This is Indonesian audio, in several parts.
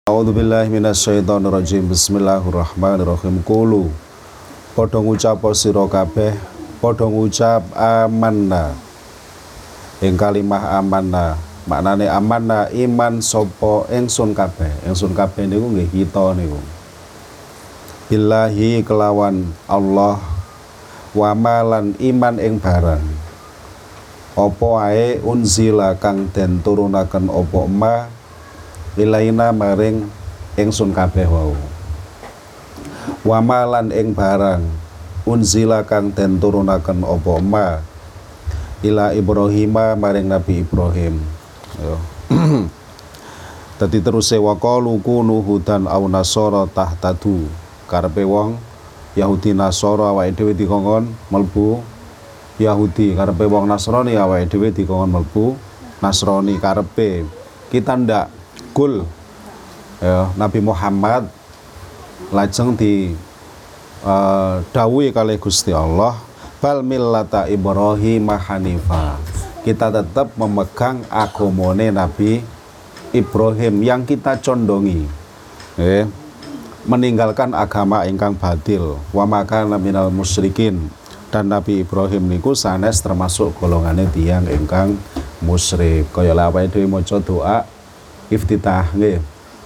A'udzubillahi minasyaitonirrajim. Bismillahirrahmanirrahim. Qulu padha ngucap sira kabeh, padha ngucap amanna. Ing kalimah amanna, maknane amanna iman sapa ingsun kabeh. Ingsun kabeh niku nggih kita niku. Billahi kelawan Allah, wa malan iman ing barang. Apa ae unzila kang den turunaken apa ma ilaina maring ingsun kabeh wau. Wa malan ing barang unzila kang den turunaken apa ma ila Ibrahima maring Nabi Ibrahim. Yo. Dadi teruse wa qalu kunu hudan aw nasara tahtadu. Karepe wong Yahudi Nasara awake dhewe dikongkon mlebu Yahudi, karepe wong Nasrani awake dhewe dikongkon mlebu Nasrani. Karepe kita ndak kul ya, Nabi Muhammad lajeng di dawuhi kalih Gusti Allah bal millata Ibrahim hanifa. Kita tetap memegang agamane Nabi Ibrahim yang kita condongi, meninggalkan agama ingkang batil. Wa makana minal musyrikin, dan Nabi Ibrahim niku sanes termasuk golongane tiyang ingkang musyrik. Kaya awake dhewe maca doa iftitah nggih.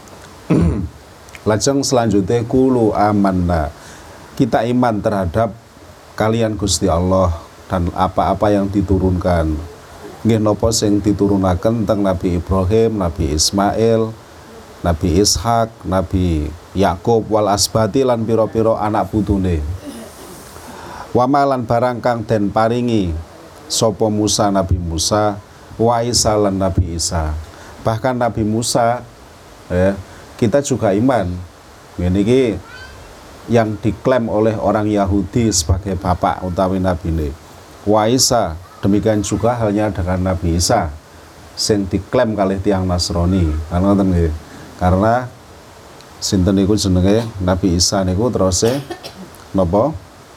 Lajeng selanjutnya kulu amanna. Kita iman terhadap kalian Gusti Allah dan apa-apa yang diturunkan. Nggih napa sing diturunaken teng Nabi Ibrahim, Nabi Ismail, Nabi Ishak, Nabi Yakub wal asbati lan pira-pira anak putune. Wa malan barang kang den paringi sapa Musa Nabi Musa, wa Isa lan Nabi Isa. Bahkan Nabi Musa kita juga iman. Ini yang diklaim oleh orang Yahudi sebagai bapak utawi Nabi ini. Wa Isa, demikian juga halnya dengan Nabi Isa sing diklaim kalih tiang Nasrani. Karena sinten niku jenenge Nabi Isa niku teruse napa?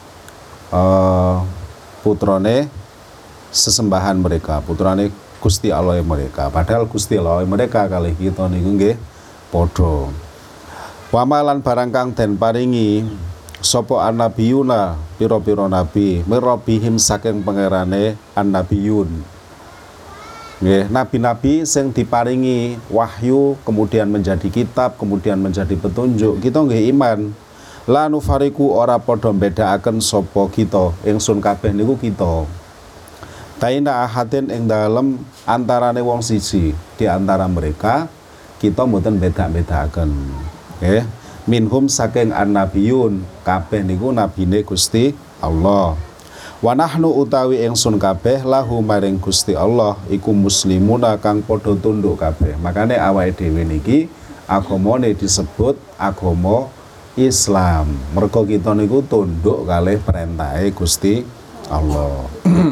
Putrane sesembahan mereka, putrane Gusti Allah mereka. Padahal Gusti Allah mereka kalih kita niku nggih padha. Wa malan barang kang den paringi sapa annabiyuna pira-pira nabi mirabihim saking pangerane annabiyun. Nggih, nabi-nabi sing diparingi wahyu kemudian menjadi kitab, kemudian menjadi petunjuk. Kita nggih iman. La nufariku ora padha bedakaken sapa kita, ingsun kabeh niku kita. Baina ahadin ing dalem antarane wong siji di antara mereka kita mboten beda-bedakaken. Nggih, minhum saking annabiyun, kabeh niku nabine Gusti Allah. Wa nahnu utawi ingsun kabeh lahu maring Gusti Allah iku muslimuna kang padha tunduk kabeh. Makane awake dhewe niki agamane disebut agama Islam. Mergo kita niku tunduk kalih perintahe Gusti Allah.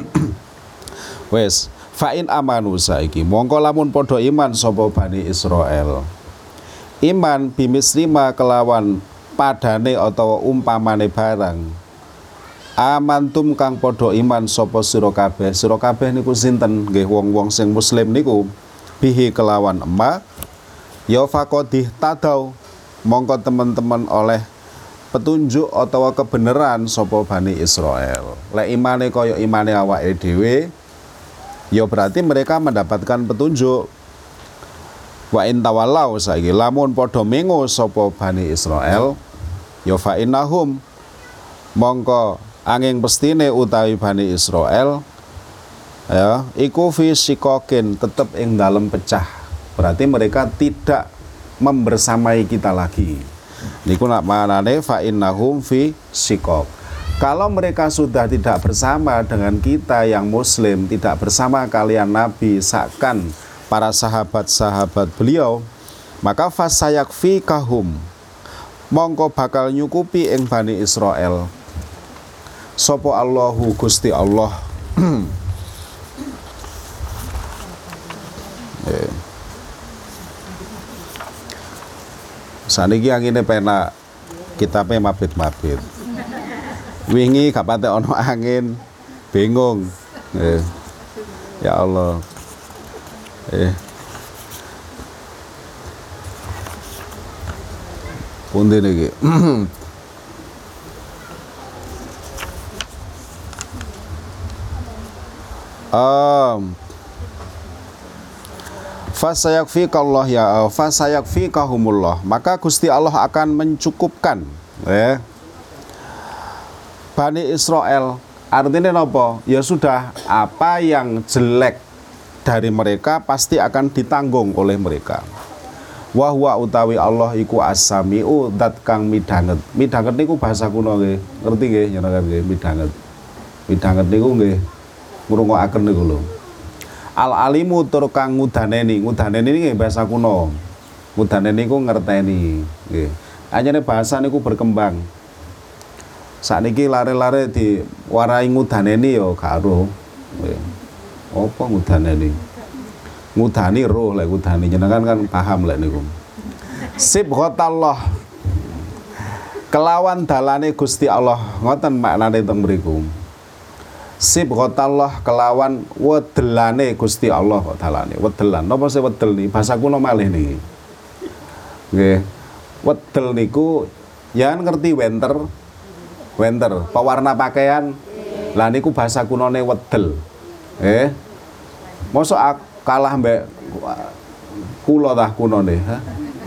Wes, fa'in amanu saiki mongko lamun padha iman sapa Bani Israel. Iman bimislima kelawan padane utawa umpamane barang. Amantum kang padha iman sapa sira kabeh. Sira kabeh niku sinten? Nggih wong-wong sing muslim niku bihi kelawan emak ya faqadih tadau. Mongko teman-teman oleh petunjuk atau kebenaran sapa Bani Israel. Lek imane kaya imane awake dhewe ya berarti mereka mendapatkan petunjuk. Wa in tawallau saiki lamun padha mengo sapa Bani Israel ya fa innahum mongko angin pestine utawi Bani Israel ya iku fi sikokin tetep ing dalem pecah. Berarti mereka tidak membersamai kita lagi. Niku nak manane fa innahum fi sikok. Kalau mereka sudah tidak bersama dengan kita yang muslim, tidak bersama kalian Nabi, seakan para sahabat-sahabat beliau, maka fasayakfi kahum mongko bakal nyukupi ing Bani Israel sopo Allahu Gusti Allah. Saniki angine penak, kitabe mabit-mabit. Wingi gak patek ono angin, bingung. Ya Allah. Pundi niki. Fasayakfikallah ya fasayakfikahumullah, maka Gusti Allah akan mencukupkan Bani Israel. Artinya apa? Ya sudah, apa yang jelek dari mereka pasti akan ditanggung oleh mereka. Wa huwa utawi Allah iku as-sami'u dat kang midanget. Midanget niku bahasa kuno nggih. Ngerti nggih njenengan nggih midanget. Midanget niku nggih ngrungokaken niku lho. Al-alimu tur kang ngudaneni. Ngudaneni nggih bahasa kuno. Ngudaneni niku ngerteni nggih. Anyane bahasa niku berkembang. Sakniki lare-lare diwarai ngudaneni ya gak ero. Apa ngudaneni? Ngudani roh lek ngudani jenengan kan paham lek niku. Sibghatallah. Kelawan dalane Gusti Allah, ngoten maknane teng mriku. Sibghatallah kelawan wedelane Gusti Allah kok dalane. Wedelan. Napa sih wedel niki? Bahasa kuno malih niki. Nggih. Wedel niku ya ngerti wenter, pewarna pakaian. Lah niku bahasa kunone wedel. Mosok kalah mbek kula tah kunone, ha?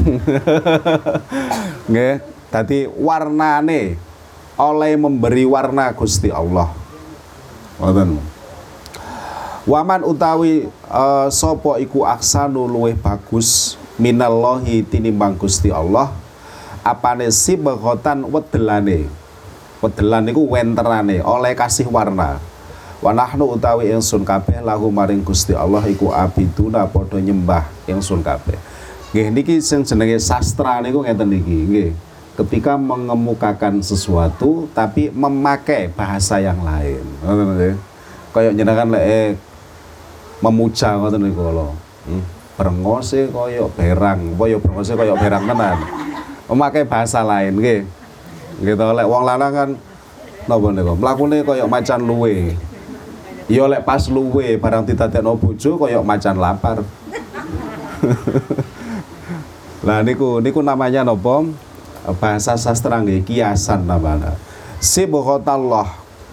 Nggih, dadi warnane oleh memberi warna Gusti Allah. Ngoten. Waman utawi sapa iku aksanu luweh bagus minallahi tinimbang Gusti Allah, apane sibghatan wedelane. Wedelan niku wenterane oleh kasih warna. Wa nahnu utawi ingsun kabeh lahu maring Gusti Allah iku abiduna padha nyembah ingsun kabeh. Nggih niki sing jenenge sastra niku ngeten niki nggih. Ketika mengemukakan sesuatu tapi memakai bahasa yang lain. Ngoten nggih. Kaya jenengan lek memuja ngoten niku lho. Brengose kaya berang, apa ya brengose kaya berang tenan. Memakai bahasa lain nggih. Gitu lek wong lanang kan napa niku mlakune kaya macan luwe. Ya lek pas luwe barang didadekno bojo kaya macan lapar. Lah niku namanya napa? Bahasa sastra nggih, kiasan namanya. Sibghatallah.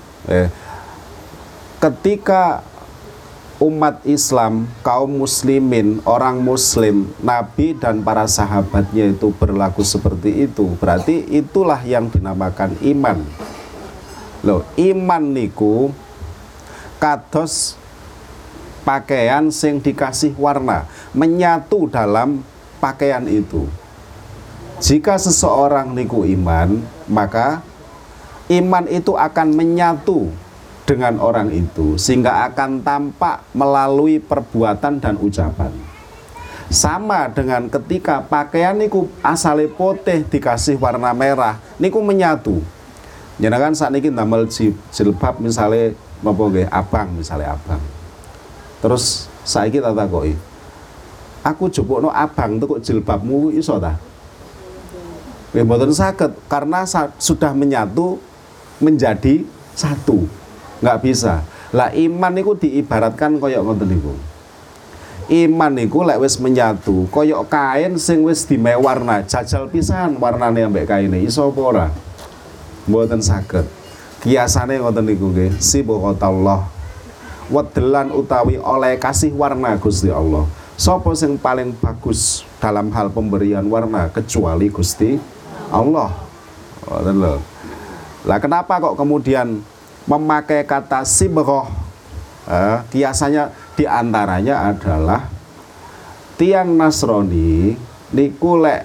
Ketika umat Islam, kaum muslimin, orang muslim, Nabi dan para sahabatnya itu berlaku seperti itu, berarti itulah yang dinamakan iman. Loh, iman niku kados pakaian sing dikasih warna, menyatu dalam pakaian itu. Jika seseorang niku iman, maka iman itu akan menyatu dengan orang itu sehingga akan tampak melalui perbuatan dan ucapan. Sama dengan ketika pakaian niku asale putih dikasih warna merah niku menyatu. Jenengan sakniki ndamel jilbab misale napa nggih abang misale abang. Terus saiki tak takoki. Aku jupukno abang tuku jilbabmu iso ta? Nggih mboten saged karena sudah menyatu menjadi satu. Nggak bisa. Lah iman niku diibaratkan koyok ngoten niku. Iman niku lek wis menyatu, koyok kain sing wis dimew warna, jajal pisan warnane ambek kaine, iso apa ora? Mboten saged. Kiasane ngoten niku nggih, sibghatallah. Wedelan utawi oleh kasih warna Gusti Allah. Sapa sing paling bagus dalam hal pemberian warna kecuali Gusti Allah. Ngoten lho. Lah kenapa kok kemudian memakai kata sibghah? Kiasannya diantaranya adalah tiang Nasrani niku lek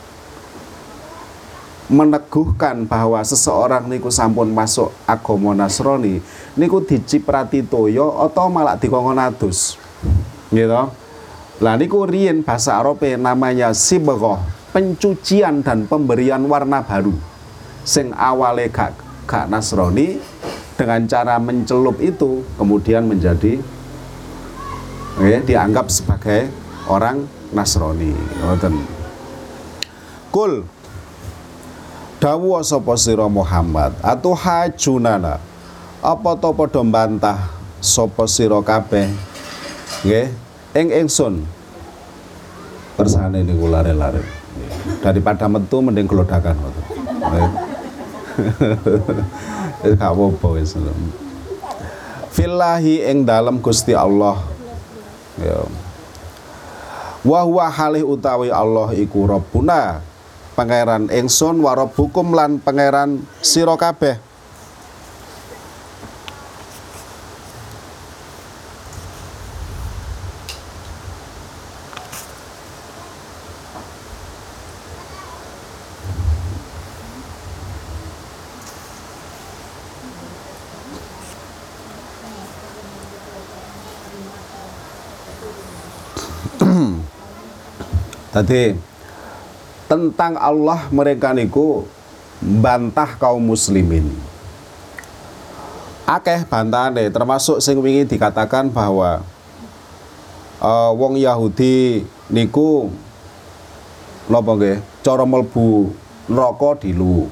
meneguhkan bahwa seseorang niku sampun masuk agama Nasrani niku diciprati toya atau malah dikongkon adus. Gitu. Lah niku riyen bahasa Arabe namanya sibghah, pencucian dan pemberian warna baru. Sing awale gak Nasrani dengan cara mencelup itu kemudian menjadi dianggap sebagai orang Nasrani. Ngoten. Kul dawuh sapa sira Muhammad atu hajunana apa to padha mbantah sapa sira kabeh nggih ing ingsun persane niku lare-lare. Daripada metu mending gelodakan ngoten. Wis gak apa-apa wis. Fillahi ing dalem Gusti Allah. Ya. Wa huwa halih utawi Allah iku Rabbuna, pangeran ingsun, wa rabbukum lan pangeran sira kabeh. Tadi tentang Allah mereka niku bantah kaum muslimin. Akeh bantahane, termasuk sing wingi dikatakan bahwa wong Yahudi niku napa nggih cara mlebu neraka dilu.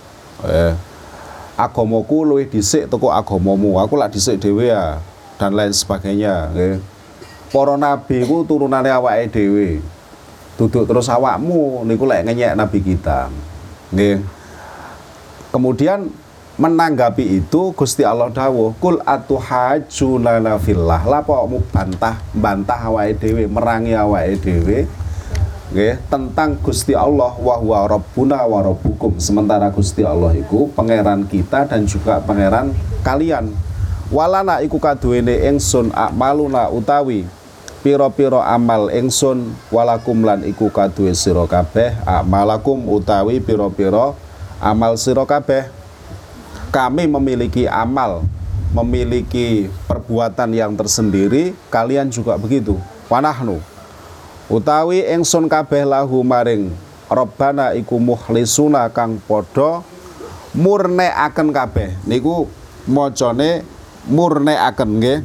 Agamaku luwih dhisik teko agamamu, aku lak dhisik dhewe ya, dan lain sebagainya nggih. Para nabi ku turunane awake dhewe. Duduk terus awakmu niku lek ngenyek nabi kita. Nggih. Kemudian menanggapi itu Gusti Allah dawuh, "Kul atuhajjuna fillah." Lah pokokmu bantah awake dhewe, merangi awake dhewe. Nggih, tentang Gusti Allah wa huwa rabbuna wa rabbukum. Sementara Gusti Allah iku pangeran kita dan juga pangeran kalian. Walana iku kaduwene ingsun akmaluna utawi piro-piro amal ingsun, walakum lan iku kaduwe sira kabeh amalakum utawi piro-piro amal sira kabeh. Kami memiliki amal, memiliki perbuatan yang tersendiri, kalian juga begitu. Wanahnu utawi ingsun kabeh lahu maring Rabbana iku mukhlisuna kang padha murnekaken kabeh. Niku macane murnekaken nggih.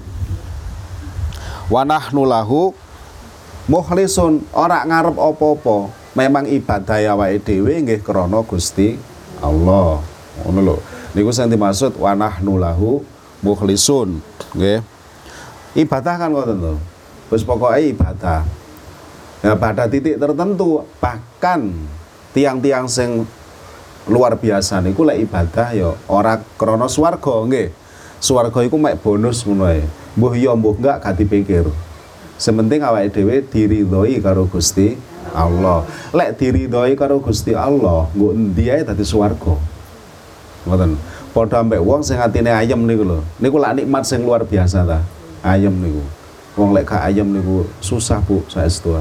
Wa nahnu lahu mukhlisun, ora ngarep apa-apa, memang ibadah awake dhewe nggih krana Gusti Allah. Ngono lho. Niku sing dimaksud wa nahnu lahu mukhlisun, nggih. Ibadah kan ngoten lho. Wis pokoke ibadah. Ya pada titik tertentu, bahkan tiang-tiang sing luar biasa niku lek ibadah ya ora krana swarga nggih. Swarga iku mek bonus ngono ae. Mbuh iya mbuh enggak gak dipikir. Sementing awake dhewe diridhoi karo Gusti Allah. Lek diridhoi karo Gusti Allah, nggo endi ae dadi swarga. Ngoten. Padha ambek wong sing atine ayem niku lho. Niku lak nikmat sing luar biasa ta. Ayem niku. Wong lek gak ayem niku susah, Bu, saestu.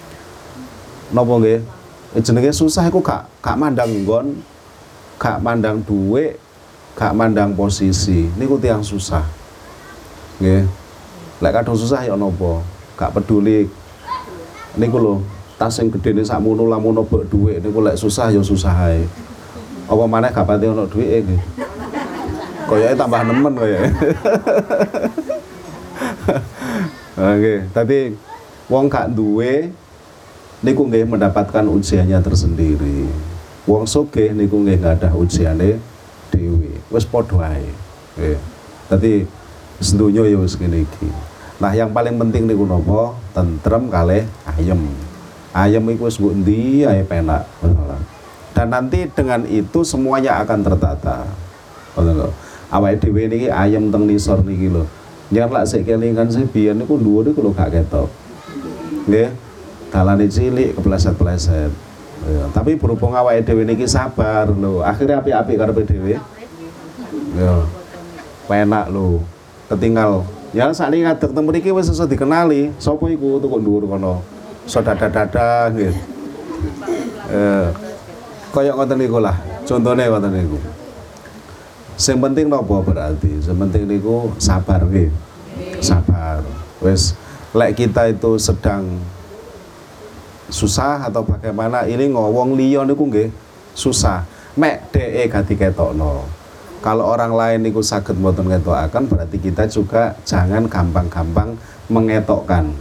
Napa nggih? Jenenge susah iku gak mandang nggon, gak mandang dhuwit, gak mandang posisi. Niku tiyang susah. Nggih. Lek kadung susah ya napa? Gak peduli. Niku lho, tas sing gedene sakmono lamun obok dhuwit niku lek susah ya susah ae. Apa maneh gak pati ono dhuwite nggih. Koyoke tambah nemen koyoke. Oke, tadi wong gak duwe niku nggih mendapatkan ujiannya tersendiri. Wong sugih niku nggih gadah ujiane dhewe. Wis padha ae. Nggih. Dadi sedoyo ya wis ngene iki. Nah, yang paling penting niku napa? Tentrem kalih ayem. Ayem iku wis nggo endi ae penak. Dan nanti dengan itu semuanya akan tertata. Ngoten lho. Awake dhewe niki ayem teng nisor niki lho. Jangan lak sik kelingan sing biyen niku dhuwur niku lho gak ketok. Nggih. Dalane cilik kepleset-pleset. Ya, tapi berhubung awake dhewe niki sabar lho, akhirnya apik-apik karepe dhewe. Ya. Penak lho. Ketinggal. Ya sakniki ngadeg teng mriki wis iso dikenali, sapa iku tukuk dhuwur kono. Iso dada-dada nggih. Kaya ngoten niku lah. Contone ngoten niku. Sing penting napa berarti? Sing penting niku sabar nggih. Sabar. Wis lek kita itu sedang susah atau bagaimana ini ngowong liya niku nggih susah. Mek dheke gak diketokno. Kalau orang lain niku saged mboten ngetokaken berarti kita juga jangan gampang-gampang mengetokkan.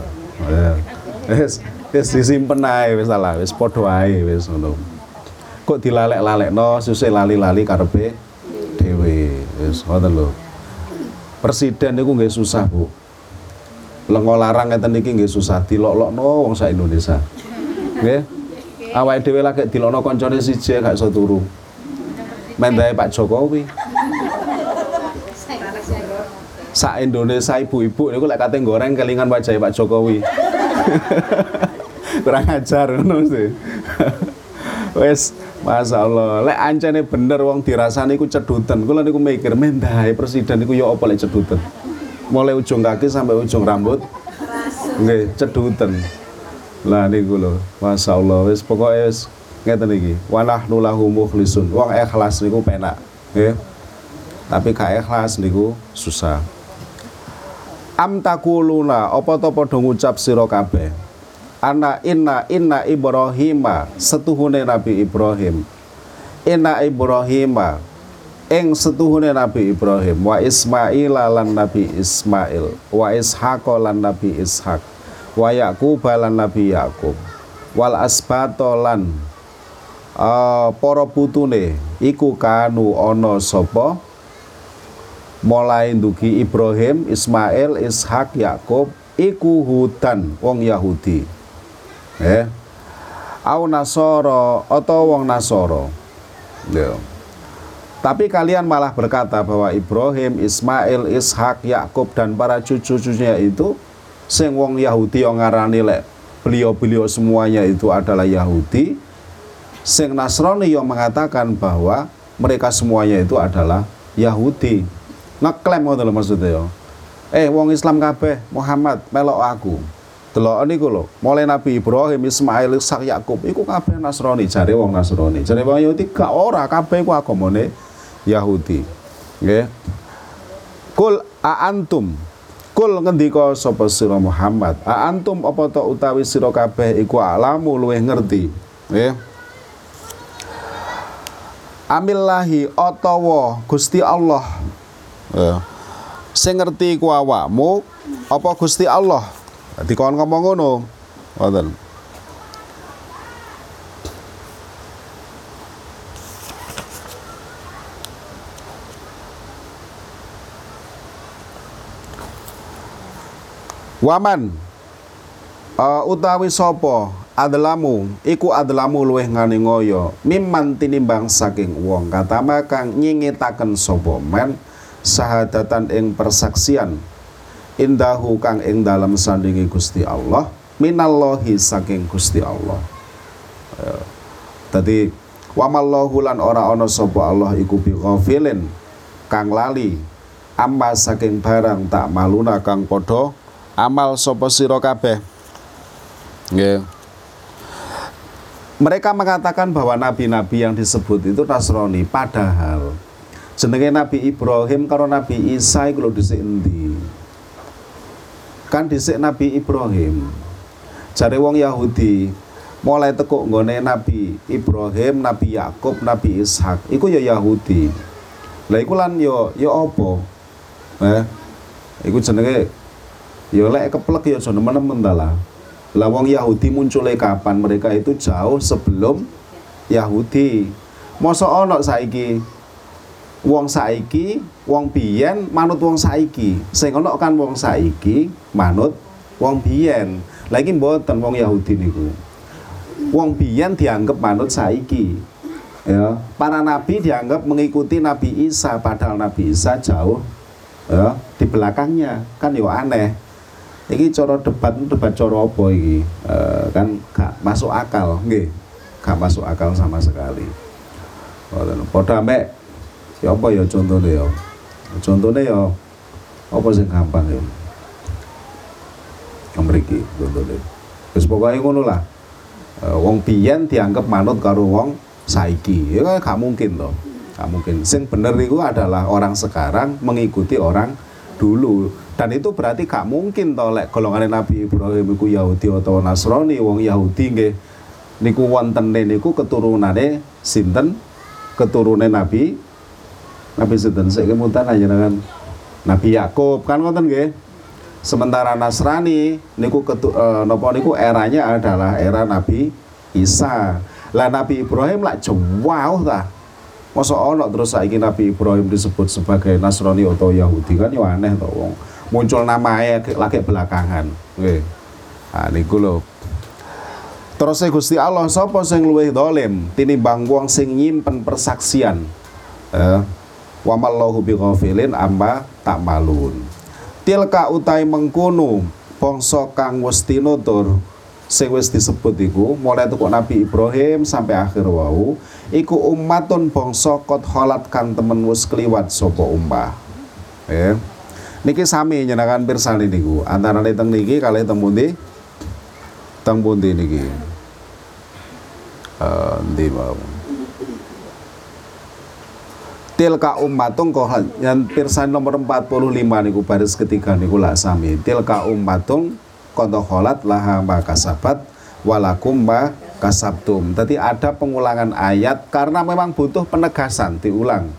Wis disimpen ae wis salah, wis padha ae wis ngono. Kok dilalek-lalekno susah lali-lali karepe dhewe. Wis ngoten lho. Presiden niku nggih susah, Bu. Lengo larang ngeten iki nggih susah dilok-lokno wong sak Indonesia. Nggih. Awake dhewe lagi dilono kancane siji gak iso turu. Mendahe Pak Jokowi. Sak Indonesia ibu-ibu niku lek kate goreng kelingan wajahe Pak Jokowi. Kurang ajar ngono sih. Wes, masyaallah. Lek ancene bener wong dirasani iku ceduten. Kula niku mikir mendahe presiden niku ya apa lek ceduten. Mulai ujung kaki sampai ujung rambut. Nggih, ceduten. Lah niku lho, masyaallah. Wis pokoke wis ngeten iki. Wa nahnu lahu mukhlisun. Wong ikhlas niku penak, nggih. Tapi gak ikhlas niku susah. Am takuluna apa to padha ngucap sira kabeh. Inna Ibrahima setuhune Nabi Ibrahim. Inna Ibrahima ing setuhune Nabi Ibrahim wa Ismail lan Nabi Ismail wa Ishaq lan Nabi Ishaq wa Yaqub lan Nabi Yaqub wal asbato lan para putune iku kanu ana sapa mulai ndugi Ibrahim, Ismail, Ishak, Yakub iku hudan wong Yahudi. Au Nasara atau wong Nasara. Tapi kalian malah berkata bahwa Ibrahim, Ismail, Ishak, Yakub dan para cucu-cucunya itu sing wong Yahudi yang ngarani lek beliau-beliau semuanya itu adalah Yahudi. Sing Nasrani yang mengatakan bahwa mereka semuanya itu adalah Yahudi. Ngeklaim ngoten lho maksudnya ya. Wong Islam kabeh Muhammad melok aku. Delok niku lho, mulai Nabi Ibrahim, Ismail, Ishak, Yakub iku kabeh Nasrani, jare wong Nasrani. Jare wong Yahudi gak ora, kabeh iku agamane Yahudi. Nggih. Kul antum. Kul ngendika sapa sira Muhammad, antum apa to utawi sira kabeh iku alamu luwih ngerti. Nggih. Amillahi atawa Gusti Allah. Sing ngerti ku awakmu apa Gusti Allah? Dikon ngomong ngono. Wonten. Waman utawi sapa adlamu iku adlamu luweh ngani ngoyo mimman tinimbang saking wong katama kang nyingitaken sapa men sahadatan ing persaksian indahu kang ing dalam sandingi Gusti Allah minallahi saking Gusti Allah. Tadi wamallahu lan ora ana sapa Allah iku bi ghafilin kang lali amma saking barang tak maluna kang padha amal sapa sira kabeh. Nggih. Mereka mengatakan bahwa nabi-nabi yang disebut itu Nasrani, padahal jenenge Nabi Ibrahim karo Nabi Isa iku lho dhisik endi? Kan dhisik Nabi Ibrahim. Jare wong Yahudi mulai tekuk nggone Nabi Ibrahim, Nabi Yakub, Nabi Ishak iku ya Yahudi. Lah iku lan ya apa? Iku jenenge ya lek keplek ya aja nemen-nemen ta lah. Lah wong Yahudi muncule kapan? Mereka itu jauh sebelum Yahudi. Mosok ana saiki wong saiki, wong biyen manut wong saiki. Sing ana kan wong saiki manut wong biyen. Lah iki mboten wong Yahudi niku. Wong biyen dianggap manut saiki. Ya, para nabi dianggap mengikuti Nabi Isa padahal Nabi Isa jauh ya di belakangnya. Kan yo aneh. Iki cara debat cara apa iki? Kan gak masuk akal, nggih. Gak masuk akal sama sekali. Padha mek ya apa ya contone ya? Contone ya apa sing gampang ya? Mriki contone. Wis pokoke ngono lah. Wong biyen dianggap manut karo wong saiki. Ya gak mungkin to. Gak mungkin. Sing bener iku adalah orang sekarang mengikuti orang dulu. Dan itu berarti gak mungkin to lek golongane Nabi Ibrahim iku Yahudi atau Nasrani. Wong Yahudi nggih niku wontene niku keturunane sinten? Keturunan Nabi sinten sik kemutan ajenengan Nabi Yakub kan ngoten nggih. Sementara Nasrani niku napa niku eranya adalah era Nabi Isa. Lah Nabi Ibrahim lak jauh ta. Masa ana terus saiki Nabi Ibrahim disebut sebagai Nasrani atau Yahudi kan yo aneh to wong. Muncul namanya lagi belakangan. Nggih. Niku lho. Terus Gusti Allah sapa sing luwih dolim tinimbang wong sing nyimpen persaksian. Wa mallahu bighafilin amma ta'malun. Tilka utai mengkono bangsa kang wis tinutur sing wis disebut iku mulai teko Nabi Ibrahim sampai akhir wau iku ummatun bangsa qad khalat kang temen wis kliwat sapa ummah. Niki sami nyenengan pirsani niku antarane teng niki kalih teng pundi? Teng pundi niki? Ndi mau. Tilka ummatun qad yang pirsani nomor 45 niku baris ketiga niku lak sami. Tilka ummatun qad khalat laha ma kasabat walakum ma kasabtum. Tadi ada pengulangan ayat karena memang butuh penegasan diulang.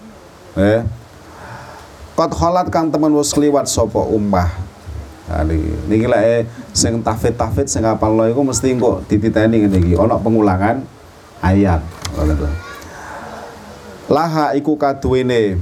Qad khalat kang temen wis kliwat sapa ummah. Nah niki lek sing tahfidz sing hafalno iku mesti kok dititeni ngene iki ana pengulangan ayat. Laha iku kaduwene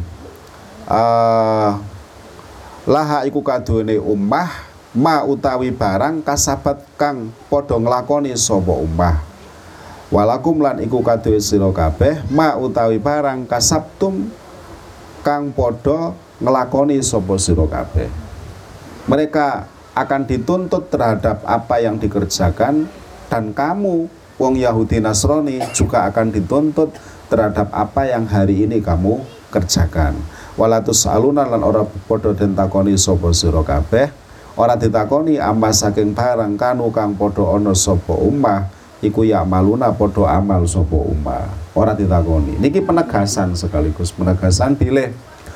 ummah ma utawi barang kasabat kang padha nglakoni sapa ummah. Walakum lan iku kaduwe sira kabeh ma utawi barang kasabtum kang padha nglakoni sapa sira kabeh. Mereka akan dituntut terhadap apa yang dikerjakan dan kamu wong Yahudi Nasrani juga akan dituntut terhadap apa yang hari ini kamu kerjakan. Walatus aluna lan ora padha den takoni sapa sira kabeh, ora ditakoni amma saking barang kanu kang padha ana sapa ummah iku ya maluna padha amal sapa ummah. Ora ditakoni. Niki penegasan sekaligus penegasan bilih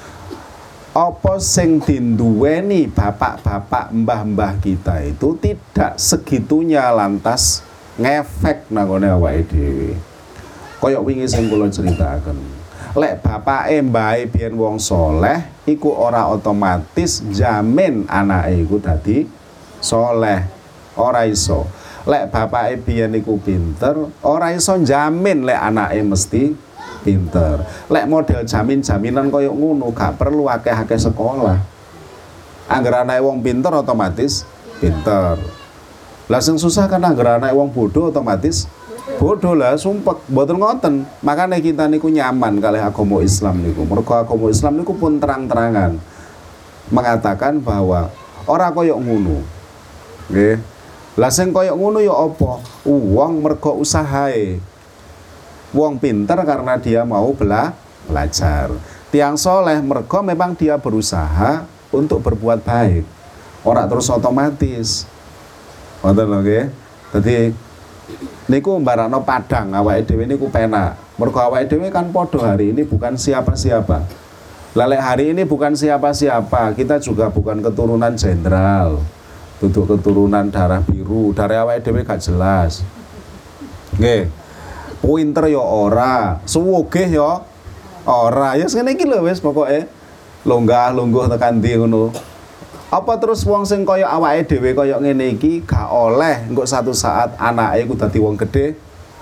apa sing dinduweni bapak-bapak mbah-mbah kita itu tidak segitunya lantas ngefek nang ngene awake dhewe. Kaya wingi sing kula critaken. Lek bapake mbahe biyen wong soleh iku ora otomatis jamin anake iku dadi soleh. Ora iso. Lek bapake biyen iku pinter, ora iso jamin lek anake mesti pinter. Lek model jamin-jaminan kaya ngono gak perlu akeh-akeh sekolah. Angger anake wong pinter otomatis pinter. Lah sing susah kan angger anake wong bodoh otomatis bodoh lah, sumpek, mboten ngoten. Makanya kita niku nyaman kalih agama Islam niku. Mergo agama Islam niku pun terang-terangan mengatakan bahwa ora koyo ngono. Nggih. Lah sing koyo ngono ya apa? Wong mergo usahae. Wong pinter karena dia mau belajar. Tiang soleh mergo memang dia berusaha untuk berbuat baik. Ora terus otomatis. Ngoten lho nggih. Dadi niku mbarano padang awake dhewe niku penak. Mergo awake dhewe kan padha hari ini bukan siapa-siapa. Lalek hari ini bukan siapa-siapa, kita juga bukan keturunan jenderal. Duduk keturunan darah biru, darah awake dhewe gak jelas. Nggih. Pinter ya ora, suwugih ya ora. Ya ngene iki lho wis pokoke longgah-lungguh tekan ndi ngono. Apa terus wong sing kaya awake dhewe kaya ngene iki gak oleh engko satu saat anake iku dadi wong gedhe.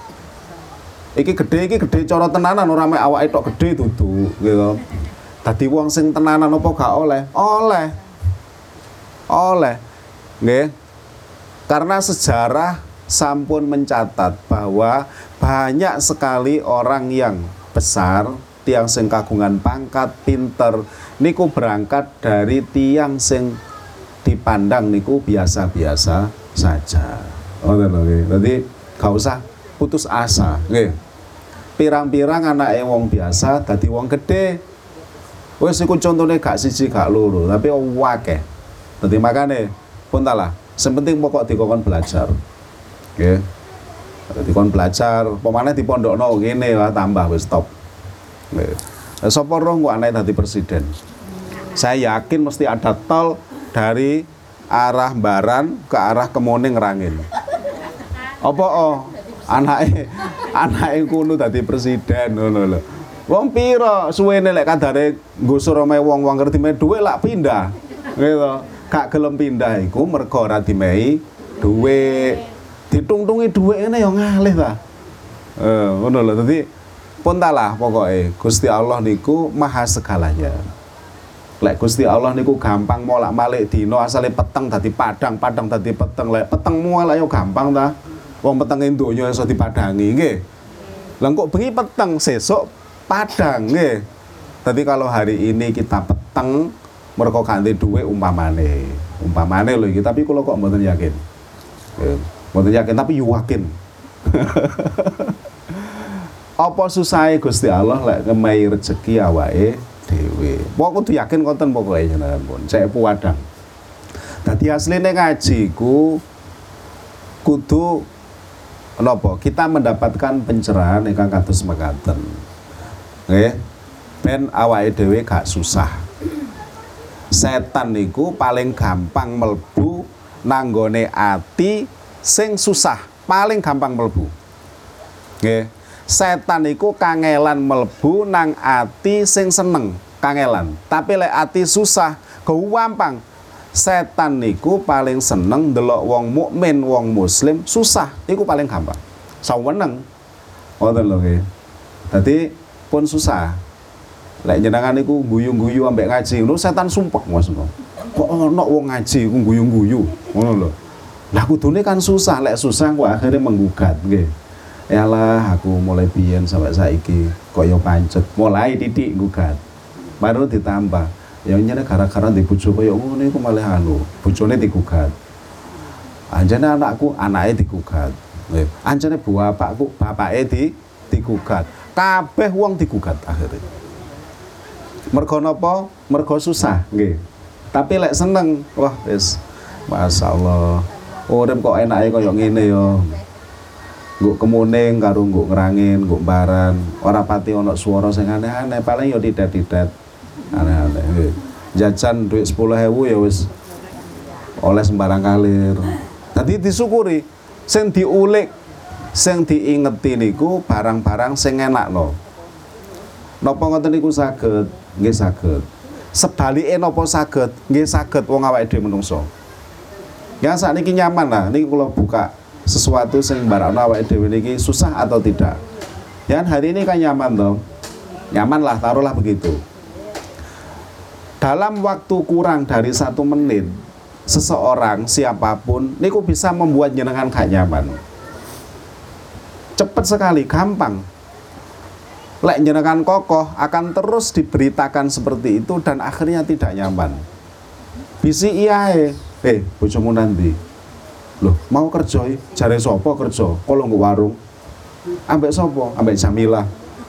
Iki gedhe cara tenanan ora mek awake tok gedhe dudu gitu. Dadi wong sing tenanan apa gak oleh? Oleh. Nggih. Karena sejarah sampun mencatat bahwa banyak sekali orang yang besar, tiang sing kagungan pangkat, pinter niku berangkat dari tiang sing dipandang niku biasa-biasa saja. Ngoten lho nggih. Dadi gak usah putus asa, nggih. Pirang-pirang anake wong biasa dadi wong gedhe. Wis iku contone gak siji gak loro, tapi akeh. Dadi makane pun talah, sing penting pokok dikon belajar. Nggih. Dikon belajar, pemane dipondokno ngene lah tambah wis stop. Nggih. Sapa roh kok anake dadi presiden? Saya yakin mesti ada tol dari arah Baran ke arah Kemuning Rangin. Apa anake kuno dadi presiden ngono lho. Wong pira suwene lek kadare nggusur omahe wong-wong ngerti me dhuwit lak pindah. Gitu. Gak gelem pindah iku mergo ora dimehi dhuwit. Ditungtungi dhuwit ngene ya ngalih ta. Ngono lho. Dadi puntalah pokoke Gusti Allah niku maha segalanya. Lek Gusti Allah niku gampang molak-malik dina asale peteng dadi padang, padang dadi peteng. Lek peteng mual ayo gampang ta. Wong petenge donya iso dipadangi nggih. Lah kok bengi peteng sesuk padang nggih. Tapi kalau hari ini kita peteng mergo ganti dhuwit umpamane lho iki, tapi kula kok mboten yakin. Mboten yakin tapi yakin. Apa susahe Gusti Allah lek ngemehi rezeki awake dhewe. Pokok kudu yakin konten pokoke jenengan pun. Cek puwadang. Dadi asline ngaji ku kudu napa? Kita mendapatkan pencerahan ingkang kados mekaten. Nggih. Ben awake dhewe gak susah. Setan niku paling gampang mlebu nanggone ati sing susah, paling gampang mlebu. Nggih. Setan niku kangelan mlebu nang ati sing seneng, kangelan. Tapi lek ati susah, gampang. Setan niku paling seneng ndelok wong mukmin, wong muslim susah, iku paling gampang. Saweneng. Ngoten lho nggih. Dadi pun susah. Lek jenengan niku guyu-guyu ambek ngaji, lho setan sumpek Mas. Kok ono wong ngaji ku guyu-guyu, ngono lho. Lah kudune kan susah, lek susah kok akhirnya menggugat nggih. Yalah aku mulai biyen sampai saiki kaya pancet, mulai titik gugat. Baru ditambah. Ya nyene gara-gara di bojo kaya ngono iku malah bojone digugat. Anjene anakku, anake digugat. Nggih. Anjene bapakku, bapake digugat. Kabeh wong digugat akhirnya. Mergo napa? Mergo susah, nggih. Tapi lek seneng, wah wis masyaallah. Urip kok enake kaya ngene ya. Nggo kemuning karo nggo ngrangin, nggo baran, ora pati ana swara sing aneh-aneh, paling ya tidak-tidak aneh-aneh. Nggih. Jajan duit 10.000 ya wis oleh sembarang kalir. Dadi disyukuri sing diulik, sing diingeti niku barang-barang sing enakno. Napa ngoten niku saged? Nggih saged. Sebalike napa saged? Nggih saged wong awake dhewe menungso. Ya sakniki nyaman lah, niki kula buka sesuatu sing barakno awake dhewe niki susah atau tidak. Ya hari ini kan nyaman toh. Nyaman lah, taruhlah begitu. Dalam waktu kurang dari 1 menit, seseorang siapapun niku bisa membuat jenengan gak nyaman. Cepat sekali, gampang. Lek jenengan kokoh akan terus diberitakan seperti itu dan akhirnya tidak nyaman. Bisi iyae, bojomu nanti. Loh, mau kerja jare sapa kerja? Kalau nggo warung. Ambek sapa? Ambek Jamila.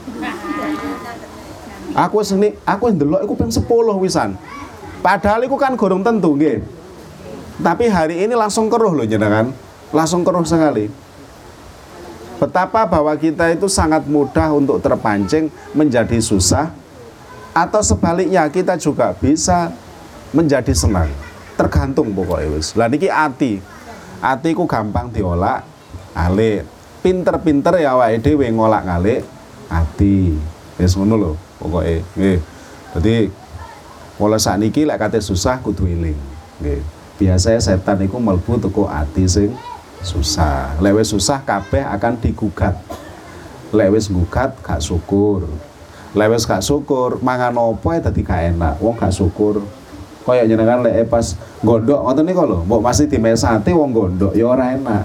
Aku ndelok iku ping 10 wisan. Padahal iku kan gorong tentu nggih. Tapi hari ini langsung keruh loh jenengan. Langsung keruh sekali. Betapa bahwa kita itu sangat mudah untuk terpancing menjadi susah, atau sebaliknya kita juga bisa menjadi senang. Tergantung pokoknya wis. Lah niki ati. Ati ku gampang diolak alik. Pinter-pinter ya awake dhewe ngolak-alik ati. Wis ngono lho pokoke. Nggih. Dadi pola sakniki lek kate susah kudu eling. Nggih. Biasanya setan iku mlebu teko ati sing susah. Lek wis susah kabeh akan digugat. Lek wis gugat gak syukur. Lek wis gak syukur mangan apa dadi gak enak. Wong gak syukur. Kaya jenengan lek pas gondok ngoten niku lho, mbok masih dimesati wong gondok ya ora enak.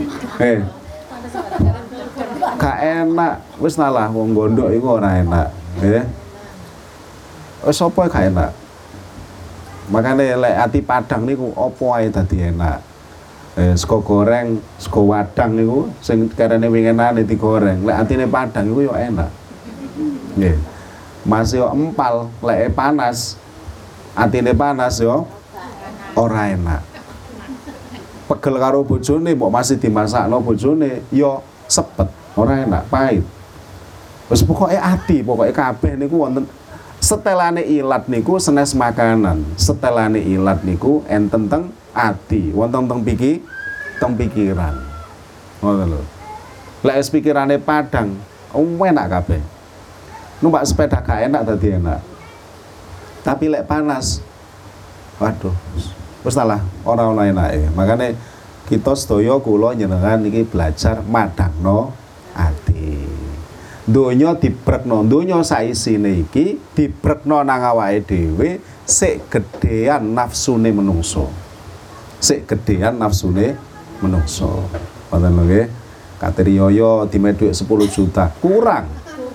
Gak enak, wis nalah wong gondok iku ora enak, nggih. Wis apa gak enak. Makane lek ati padang niku apa ae dadi enak. Sego goreng, sego wadang niku sing karene winginane digoreng, lek atine padang iku ya enak. Nggih. Masih yo empal, lek panas. Atine panas yo ora enak. Pegel karo bojone mbok masih dimasakno bojone yo sepet, ora enak, pahit. Wis pokoke ati, pokoke kabeh niku wonten setelane ilat niku senes makanan. Setelane ilat niku enten teng ati, wonten teng pikiran. Ngoten lho. Lek wis pikirane padang, enak kabeh. Numpak sepeda gak enak dadi enak. Tapi lek panas, waduh, wis salah ora ana enake. Makane kita sedaya kula njenengan iki belajar madangno ati. Donya dibrekno, donya saisine iki dibrekno nang awake dhewe sik gedhean nafsune menungso. Sik gedhean nafsune menungso. Ngoten lho nggih. Katriyoyo dime dhuwit 10 juta, kurang.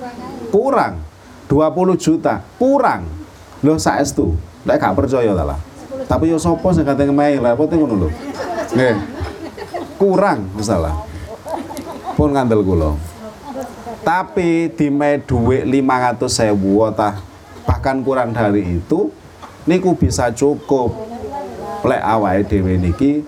20 juta, kurang. Lho saestu, lek gak percaya ta lah. Tapi yo sapa sing kate ngemehi lha apa ngono lho. Nggih. Kurang masalah. Pun ngandel kula. Tapi dime dhuwit 500.000 ta bahkan kurang dari itu niku bisa cukup lek awake dhewe niki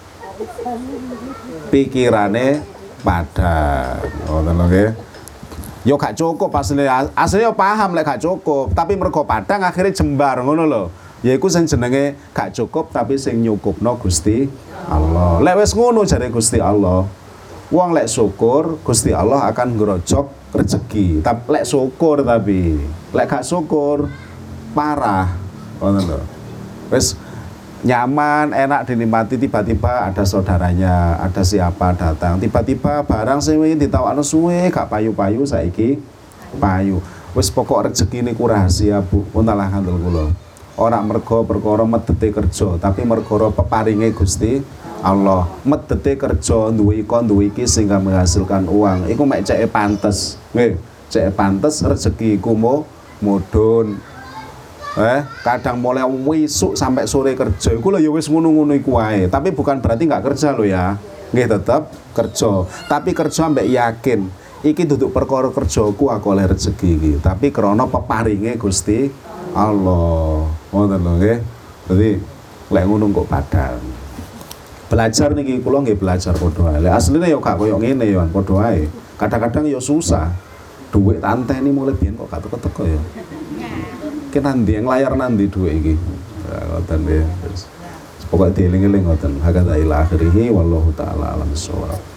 pikirane padang. Ngoten lho nggih. Yo gak cukup asline paham lek gak cukup, tapi mergo padang akhirnya jembar ngono lho. Yaiku sing jenenge gak cukup tapi sing nyukupno Gusti Allah. Lek wis ngono jare Gusti Allah, wong lek syukur Gusti Allah akan ngrojok rezeki. Tapi lek syukur tapi lek gak syukur parah. Ngoten lho. Wis nyaman, enak dinikmati, tiba-tiba ada saudaranya, ada siapa datang, tiba-tiba barang sing wingi ditawakno suwe gak payu-payu saiki payu. Wis pokok rezeki niku rahasia, Bu. Puntalah kandel kula. Ora mergo perkara medete kerja, tapi mergo peparinge Gusti Allah. Medete kerja duwe iko duwe iki sehingga menghasilkan uang. Iku mek ceke pantes. Nggih, ceke pantes rezeki iku mudhun. Kadang mulai wisuk sampai sore kerja iku lho ya wis ngono-ngono iku wae. Tapi bukan berarti enggak kerja lho ya. Nggih tetep kerja. Tapi kerja mbek yakin iki duduk perkara kerjaku aku oleh rezeki iki, tapi krana peparinge Gusti Allah. Ngoten lho nggih. Dadi lek ngono kok padang. Belajar niki kula nggih belajar padha wae. Lek asline ya gak koyo ngene ya padha wae. Kadang-kadang ya susah. Duit tanteni mulai biyen kok gak teko-teko ya. Ki nandi layar nandi dhuwit iki. Ngoten nggih. Pokoke dieling-eling ngoten. Hakata ila akhirih wallahu taala alam bissawab.